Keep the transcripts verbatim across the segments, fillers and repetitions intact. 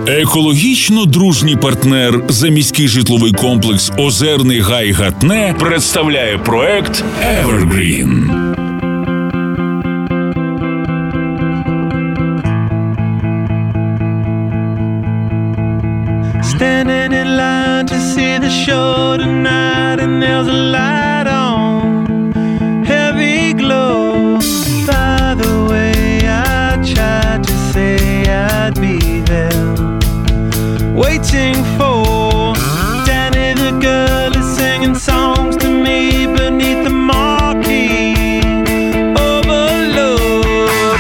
Екологічно дружній партнер заміський житловий комплекс «Озерний гай Гатне» представляє проект «Evergreen». Standing in line to see the show tonight, and there's a light on, heavy glow. By the way, I tried to say I'd be there, waiting for Danny the girl is singing songs to me beneath the marquee. Overload.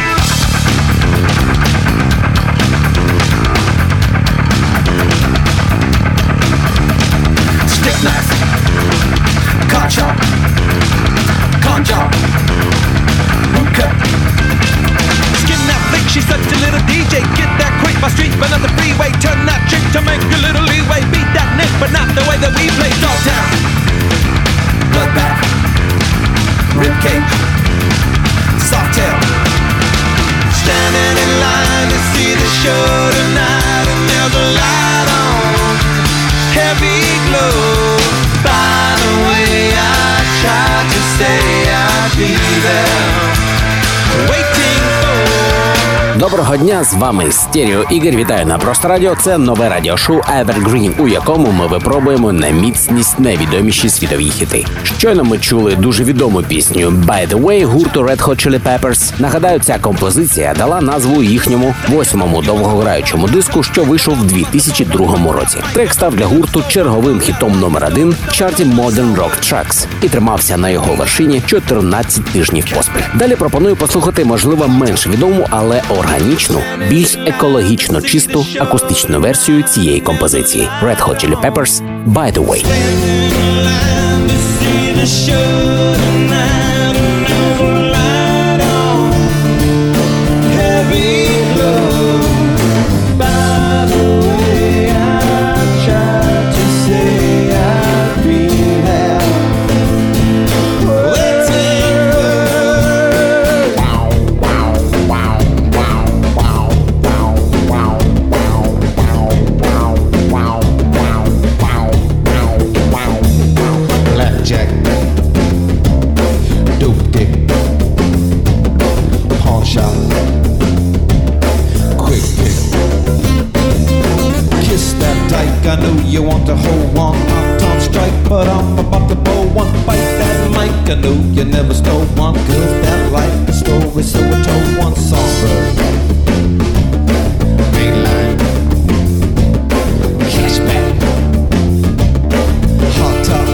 Stick knife, car chop, con job, hookah. Skin that flick, she's such a little D J. Get that quick, my street, but not the freeway. Turn that trick to make a little leeway. Beat that nick, but not the way that we play. Dog town, bloodbath, ribcage, soft tail. Standing in line to see the show tonight, and there's a light on, heavy glow. By the way, I tried to say I'd be there, waiting for. Доброго дня, з вами Стерео Ігор. Вітаю на Просто Радіо. Це нове радіошоу Evergreen, у якому ми випробуємо на міцність найвідоміші світові хіти. Щойно ми чули дуже відому пісню «By the way» гурту Red Hot Chili Peppers. Нагадаю, ця композиція дала назву їхньому восьмому довгограючому диску, що вийшов в дві тисячі другому році. Трек став для гурту черговим хітом номер один в чарті Modern Rock Tracks і тримався на його вершині чотирнадцять тижнів поспіль. Далі пропоную послухати, можливо, менш відому, але органічну, більш екологічно чисту акустичну версію цієї композиції. Red Hot Chili Peppers «By the way». I know you want to hold one on strike, but I'm about to blow one. Bite that mic, I know you never stole one, cause that like the story, so I told one. Songbird, mainline, cashback, hot top,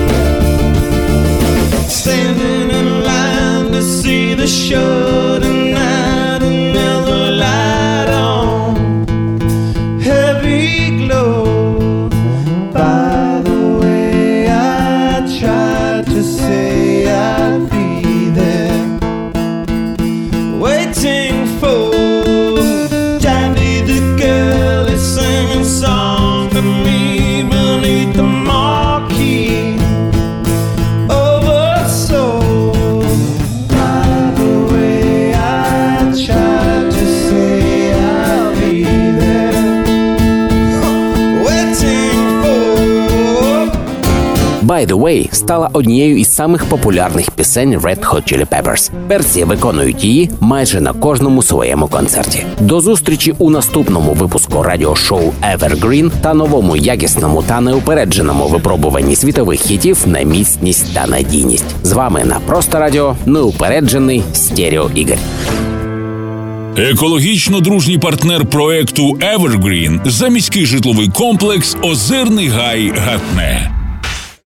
standing in line to see the show tonight, and there's a light on, heavy glow. «By the way» стала однією із самих популярних пісень Red Hot Chili Peppers. Персі виконують її майже на кожному своєму концерті. До зустрічі у наступному випуску радіошоу Evergreen та новому якісному та неупередженому випробуванні світових хітів на міцність та надійність. З вами на Просто Радіо неупереджений Стерео Ігор. Екологічно дружній партнер проекту Evergreen заміський житловий комплекс «Озерний гай Гатне».